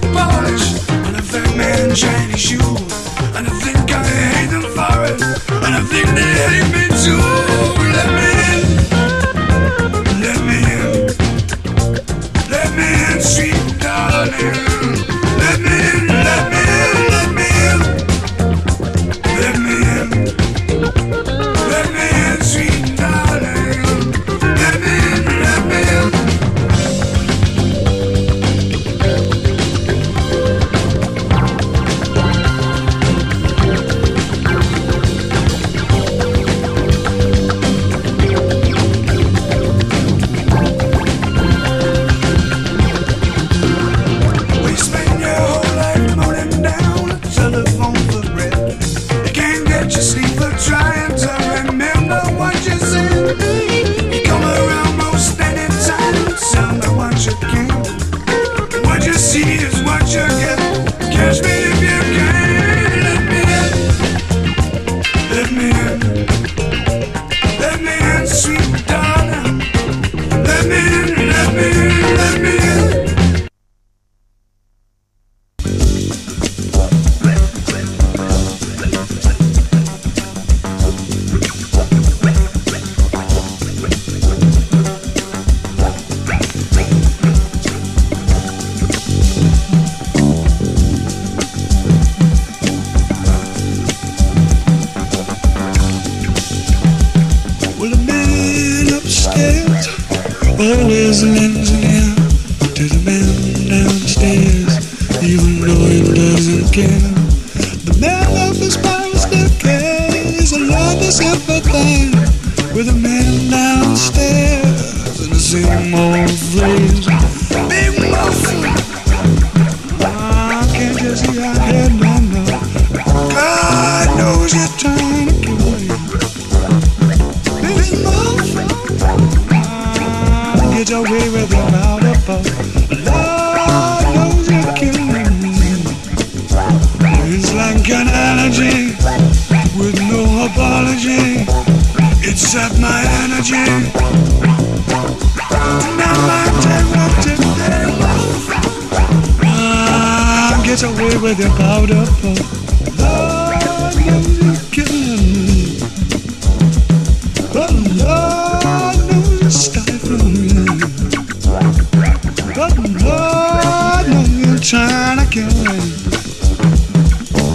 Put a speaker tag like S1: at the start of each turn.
S1: polish, and I think man shiny shoes, and I think I hate them for it, and I think they hate me too. Let me in, let me in, let me in, sweet darling. Let me in, let me in, let me in, let me in, let me in, sweet darling. Let me in, let me in. Always lends an ear to the man downstairs, even though he doesn't care. The man of his power still cares, and love is everything with a man downstairs. And the same old phrase, big muffin. Can't you see I had no. God knows you're trying to kill me. Big muffin. Get away with your mouth up. Lord knows you're killing me. It's like an allergy with no apology. It sapped my energy. Now my terror today. Get away with your powder puff. Lord knows you're killing me. But Lord knows you're stifling me. But Lord knows you're trying to kill me.